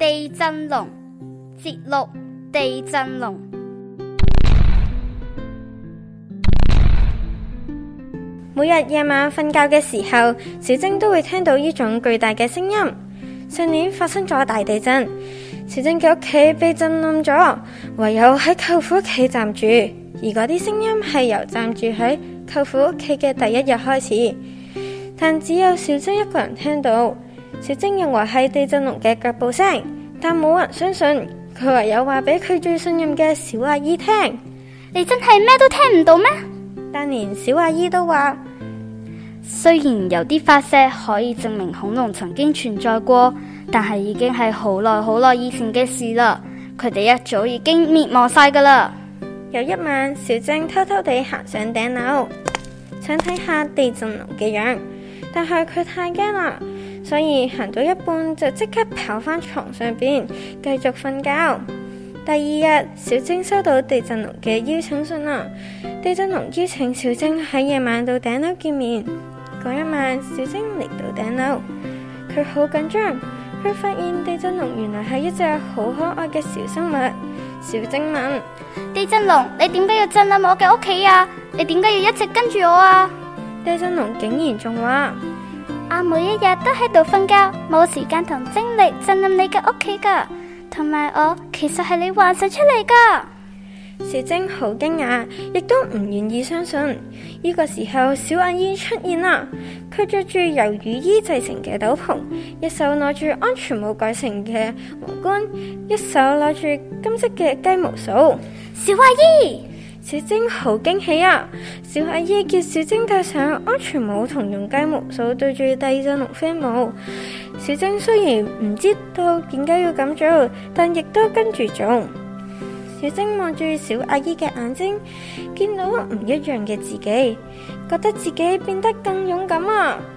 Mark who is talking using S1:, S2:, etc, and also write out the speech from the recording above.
S1: 地震龍節錄地震龍。
S2: 每日夜晚瞓覺嘅時候，小晶都會聽到呢種巨大嘅聲音。上年發生咗大地震，小晶嘅屋企被震冧咗，唯有喺舅父屋企暫住。而嗰啲聲音係由暫住喺舅父屋企嘅第一日開始，但只有小晶一個人聽到。小晶認為係地震龍嘅腳步聲，但冇人相信。佢唯有話俾佢最信任嘅小阿姨聽。
S1: 你真係咩都聽唔到咩？
S2: 但連小阿姨都話，
S1: 雖然有啲發射可以證明恐龍曾經存在過，但係已經係好耐以前嘅事啦。佢哋一早已經滅亡晒噶啦。
S2: 有一晚，小晶偷偷地行上頂樓，想睇下地震龍嘅樣，但係佢太驚啦，所以行到一半就即刻跑返床上邊繼續瞓覺。第二日，小晶收到地震龍嘅邀請信啦。地震龍邀請小晶喺夜晚到頂樓見面。嗰一晚，小晶嚟到頂樓，佢好緊張。佢發現地震龍原來係一隻好可愛嘅小生物。小晶問：
S1: 地震龍，你點解要震冧我嘅屋企啊？你點解要一直跟住我啊？
S2: 地震龍竟然仲話：
S1: 我每一日都喺度瞓覺，冇時間同精力震冧你嘅屋企噶。同埋我其實係你幻想出嚟噶。
S2: 小晶好驚訝，亦都唔願意相信。呢個時候，小阿姨出現啦。佢着住由雨衣製成嘅斗篷，一手攞住安全帽改成嘅皇冠，一手攞住金色嘅雞毛掃。
S1: 小阿姨，
S2: 小晶好驚喜啊！小阿姨叫小晶戴上安全帽同用雞毛掃對住地震龍飛舞。小晶雖然唔知道點解要咁做，但亦都跟住做。小晶望住小阿姨嘅眼睛，見到唔一樣嘅自己，覺得自己變得更勇敢啊！